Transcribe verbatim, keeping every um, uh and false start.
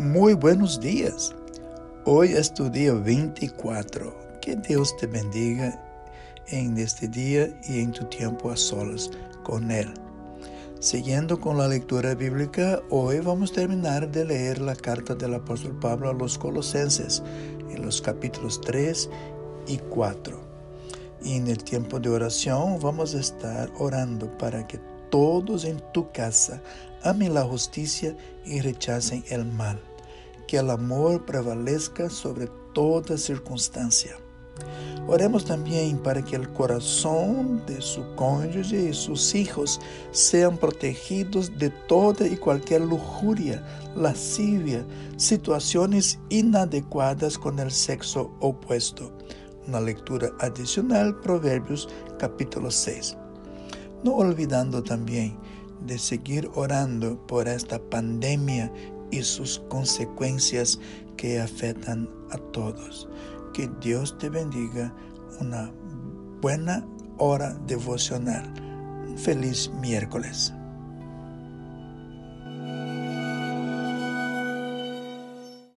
Muy buenos días. Hoy es tu día veinticuatro. Que Dios te bendiga en este día y en tu tiempo a solas con Él. Siguiendo con la lectura bíblica, hoy vamos a terminar de leer la carta del apóstol Pablo a los Colosenses, en los capítulos tres y cuatro. Y en el tiempo de oración vamos a estar orando para que todos en tu casa amen la justicia y rechacen el mal. Que el amor prevalezca sobre toda circunstancia. Oremos también para que el corazón de su cónyuge y sus hijos sean protegidos de toda y cualquier lujuria, lascivia, situaciones inadecuadas con el sexo opuesto. Una lectura adicional, Proverbios capítulo seis. No olvidando también de seguir orando por esta pandemia y sus consecuencias que afectan a todos. Que Dios te bendiga. Una buena hora devocional. Un feliz miércoles.